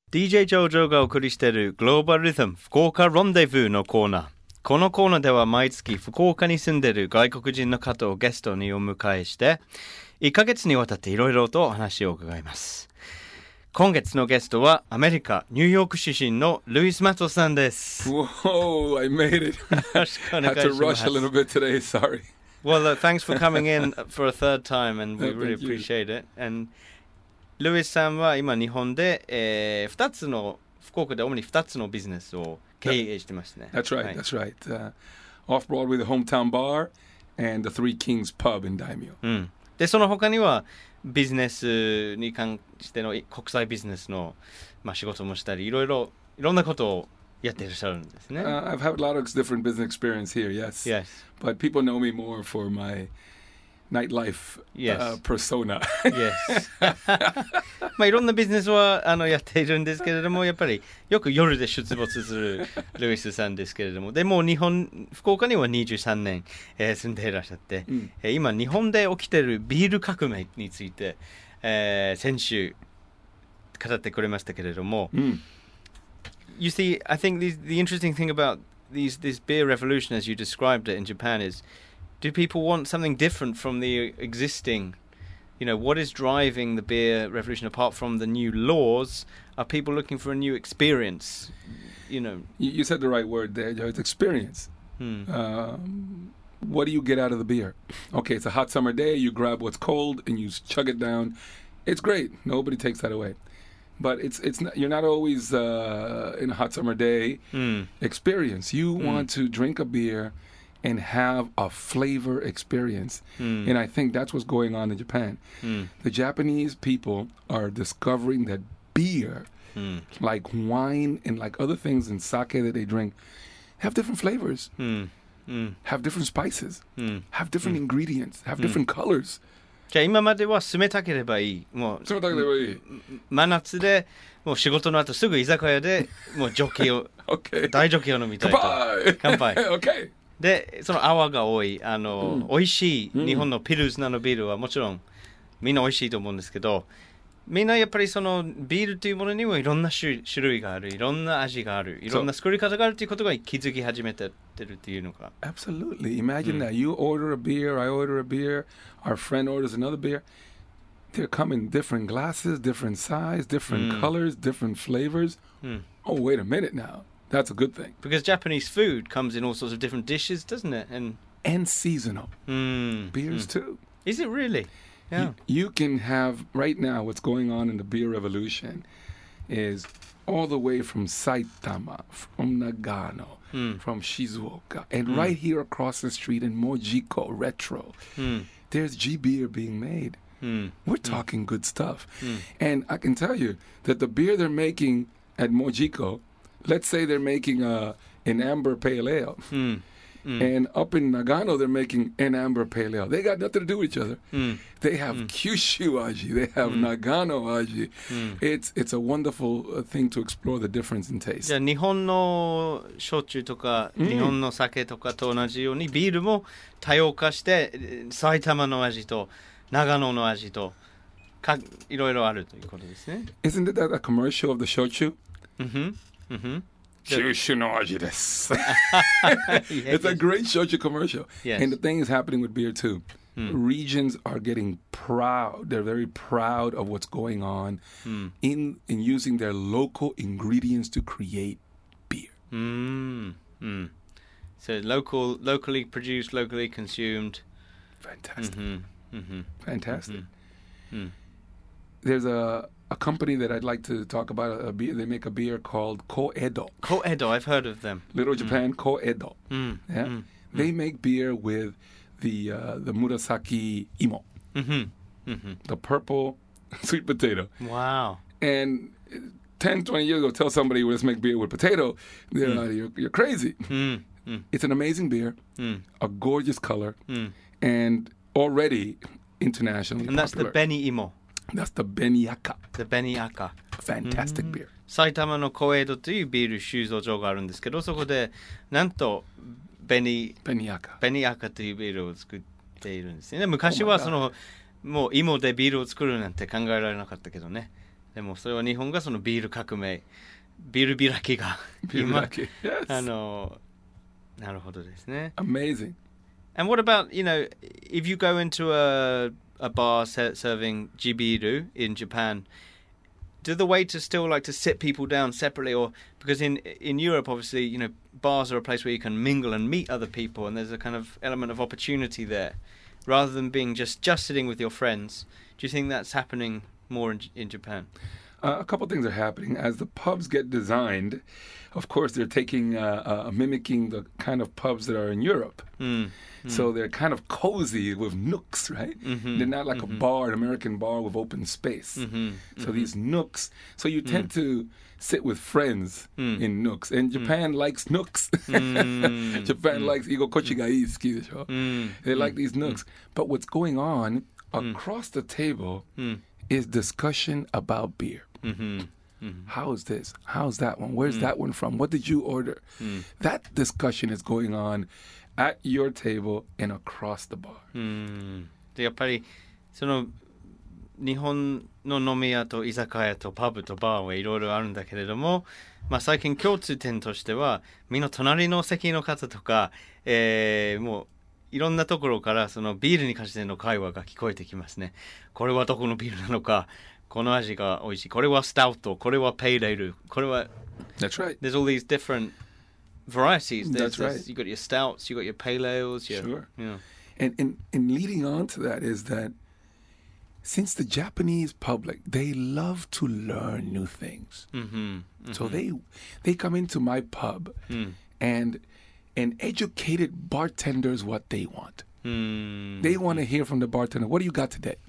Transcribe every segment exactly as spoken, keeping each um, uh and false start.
ディージェー ジョージョーがお送りしているグローバルリズム福岡ロンデブーのコーナー。このコーナーでは毎月福岡に住んでいる外国人の方をゲストにお迎えしていっかげつにわたっていろいろとお話を伺います。今月のゲストはアメリカニューヨーク出身のルイス・マトさんです。 Whoa, I made it. Had to rush a little bit today, sorry. Well, uh, thanks for coming in for a third time and we No, really thank you. appreciate it. And ルイスさんは今日本で、えー、ふたつの福岡で主にふたつのビジネスを経営してますね。 That's right, はい、 that's right. Uh, Off-Broadway, the Hometown Bar and the Three Kings Pub in Daimyo. うん。で、その他にはビジネスに関しての国際ビジネスの、まあ、仕事もしたり、いろいろいろんなことをやっていらっしゃるんですね。 Uh, I've had a lot of different business experience here, yes. Yes. But people know me more for my nightlife Yes. uh, persona. Yes. まあいろんなビジネスはあのやっているんですけれども、やっぱりよく夜で出没するルイスさんですけれども、でも日本福岡にはにじゅうさんねん、えー、住んでいらっしゃって、うん、えー、今日本で起きているビール革命について、えー、先週語ってくれましたけれども、うん、You see, I think the, the interesting thing about these this beer revolution as you described it in Japan is, do people want something different from the existing, you know, what is driving the beer revolution apart from the new laws? Are people looking for a new experience? You know, you, you said the right word there, Joe. It's experience. Hmm. Um, what do you get out of the beer? Okay, it's a hot summer day. You grab what's cold and you chug it down. It's great. Nobody takes that away. But it's it's not, you're not always uh, in a hot summer day mm. experience. You mm. want to drink a beer and have a flavor experience. Mm. And I think that's what's going on in Japan. Mm. The Japanese people are discovering that beer, mm. like wine and like other things in sake that they drink, have different flavors, mm. Mm. have different spices, mm. have different mm. ingredients, have different mm. colors. じゃあ今までは冷たければいい。もう冷たければいい。 真夏でもう仕事の後すぐ居酒屋でもうジョッキを、 okay. 大ジョッキを飲みたいと。乾杯。 okay. で、その泡が多い、あの、うん、美味しい日本のピルスナーのビールはもちろんみんな美味しいと思うんですけど、みんなやっぱりそのビールというものにもいろんな種類がある、いろんな味がある、いろんな作り方があるということが気づき始めてるっていうのか。 Absolutely. Imagine、うん、that. You order a beer, I order a beer, our friend orders another beer. They're coming in different glasses, different size, different、うん、colors, different flavors. うん、oh, wait a minute now. That's a good thing. Because Japanese food comes in all sorts of different dishes, doesn't it? And, and seasonal. Mm. Beers mm. too. Is it really? Yeah. You, you can have, right now, what's going on in the beer revolution is all the way from Saitama, from Nagano, mm. from Shizuoka, and mm. right here across the street in Mojiko Retro, mm. there's G beer being made. Mm. We're talking mm. good stuff. Mm. And I can tell you that the beer they're making at Mojiko, let's say they're making a, an amber pale ale. Mm. Mm. And up in Nagano, they're making an amber pale ale. They got nothing to do with each other. Mm. They have mm. Kyushu aji. They have mm. Nagano aji. Mm. It's it's a wonderful uh, thing to explore the difference in taste. じゃあ日本の焼酎とか、mm. 日本の酒とかと同じようにビールも多様化して埼玉の味と長野の味とかいろいろあるということですね。 Isn't it that a commercial of the shochu? Mm-hmm. Mm-hmm. Kyushu no aji desu. It's a great shochu commercial. Yes. And the thing is happening with beer too. Mm. Regions are getting proud. They're very proud of what's going on mm. in in using their local ingredients to create beer. Mm. Mm. So local, locally produced, locally consumed. Fantastic. Mm-hmm. Mm-hmm. Fantastic. Mm-hmm. Mm. There's a a company that I'd like to talk about. A beer. They make a beer called Koedo. Koedo, I've heard of them. Little Japan, mm. Koedo. Mm. Yeah, mm. They make beer with the uh, the murasaki imo, mm-hmm. Mm-hmm. the purple sweet potato. Wow. And ten, twenty years ago, tell somebody, let's make beer with potato, they're mm. like, you're, you're crazy. Mm. Mm. It's an amazing beer, mm. a gorgeous color, mm. and already internationally and that's popular. The Beni Imo. That's the Beniaka. The Beniaka. Fantastic beer. 埼玉のコエドというビール収蔵所があるんですけど、そこでなんとベニベニアカベニアカというビールを作っているんですね。昔はその、oh、もう芋でビールを作るなんて考えられなかったけどね。 でもそれは日本がそのビール革命、ビール開きが今、 Yes. あの、なるほどですね。 Amazing. And what about, you know, if you go into a, a bar ser- serving jibiru in Japan, do the waiters still like to sit people down separately? Or because in in Europe, obviously, you know, bars are a place where you can mingle and meet other people, and there's a kind of element of opportunity there, rather than being just, just sitting with your friends. Do you think that's happening more in, in Japan? Uh, a couple things are happening. As the pubs get designed, of course, they're taking, uh, uh, mimicking the kind of pubs that are in Europe. Mm. Mm. So they're kind of cozy with nooks, right? Mm-hmm. They're not like mm-hmm. a bar, an American bar with open space. Mm-hmm. So mm-hmm. these nooks. So you tend mm. to sit with friends mm. in nooks. And Japan mm. likes nooks. Mm. Japan mm. likes, igo kochi ga ii suki desho. Mm. They like these nooks. Mm. But what's going on across the table mm. is discussion about beer. Mm-hmm. Mm-hmm. How's this? How's that one? Where's mm. that one from? What did you order? Mm. That discussion is going on at your table and across the bar. うん。でやっぱりその日本の飲み屋と居酒屋とパブとバーはいろいろあるんだけれども、まあ最近共通点としてはみんな隣の席の方とか、えー、もういろんなところからそのビールに関しての会話が聞こえてきますね。これはどこのビールなのか、この味が美味しい。これはスタウト、これはペイレール、これは That's right. There's all these different varieties. There's, That's right. There's, you got your stouts, you got your pale ales. Your, sure. Yeah. And, and and leading on to that is that since the Japanese public, they love to learn new things. Mm-hmm, mm-hmm. So they they come into my pub mm. and and educated bartenders what they want. Mm. They want to hear from the bartender, what do you got today?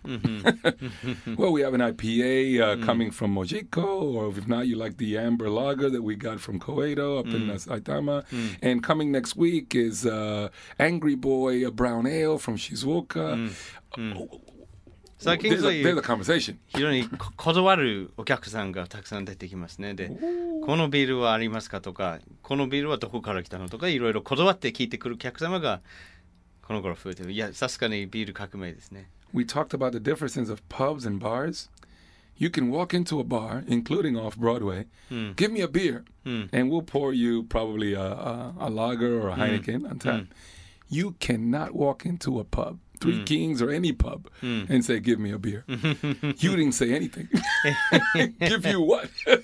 Mm-hmm. Well, we have an I P A uh, mm. coming from Mojiko, or if not, you like the amber lager that we got from Koeido up mm. in uh, Saitama. Mm. And coming next week is uh, Angry Boy, a brown ale from Shizuoka. Mm. Mm. Oh, 最近そういう There's a conversation. 非常に断るお客さんがたくさん出てきますね。で、このビールはありますかとか、このビールはどこから来たのとか、いろいろ断って聞いてくるお客様がこの頃増えてる。いや、さすがにビール革命ですね。 We talked about the differences of pubs and bars. You can walk into a bar, including off Broadway, mm. give me a beer, mm. and we'll pour you probably a, a, a lager or a Heineken mm. on tap. Mm. You cannot walk into a pub, Three mm. Kings or any pub, mm. and say, give me a beer. You didn't say anything. Give you what?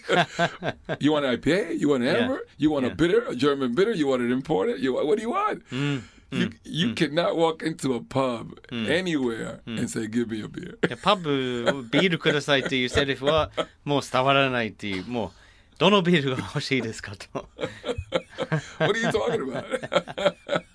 You want an I P A? You want an amber? Yeah. You want yeah. a bitter, a German bitter? You want it imported? You What do you want? Mm. You, you mm. cannot walk into a pub mm. anywhere mm. and say, give me a beer. パブビールくださいっていうセリフはもう伝わらないっていう、もうどのビールが欲しいですかと。 What are you talking about?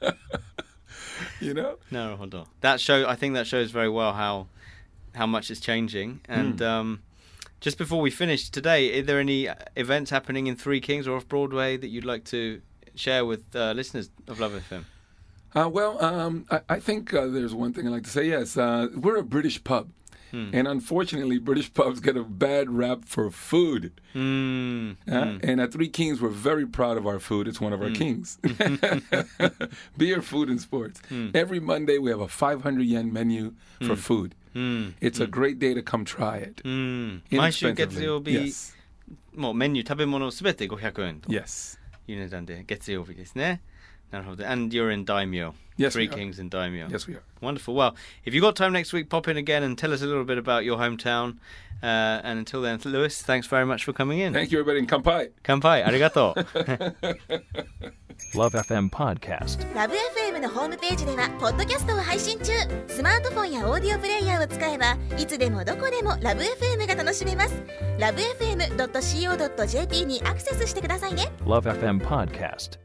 You know? なるほど。That show, I think that shows very well how how much is changing. And mm. um, just before we finish today, are there any events happening in Three Kings or off Broadway that you'd like to share with uh, listeners of Love F M? Uh, well, um, I, I think uh, there's one thing I'd like to say. Yes, uh, we're a British pub. Hmm. And unfortunately, British pubs get a bad rap for food. Mm. Uh, mm. And at Three Kings, we're very proud of our food. It's one of our mm. kings. Beer, food, and sports. Mm. Every Monday, we have a five hundred yen menu mm. for food. Mm. It's mm. a great day to come try it. Mm. 毎週月曜日、yes. もうメニュー食べ物すべてごひゃくえんと Yes. いう値段で月曜日ですね。なるほど。And you're in Daimyo. Yes, Three we are. Kings in Daimyo. Yes, we are. Wonderful. Well, if you've got time next week, pop in again and tell us a little bit about your hometown. Uh, and until then, Lewis, thanks very much for coming in. Thank you, everybody, and kanpai. Kanpai. Arigato. Love エフエム Podcast。 ラブ エフエム のホームページではポッドキャストを配信中。スマートフォンやオーディオプレイヤーを使えばいつでもどこでもラブ エフエム が楽しめます。ラブ エフエムドットシーオードットジェーピー にアクセスしてくださいね。 Love エフエム Podcast。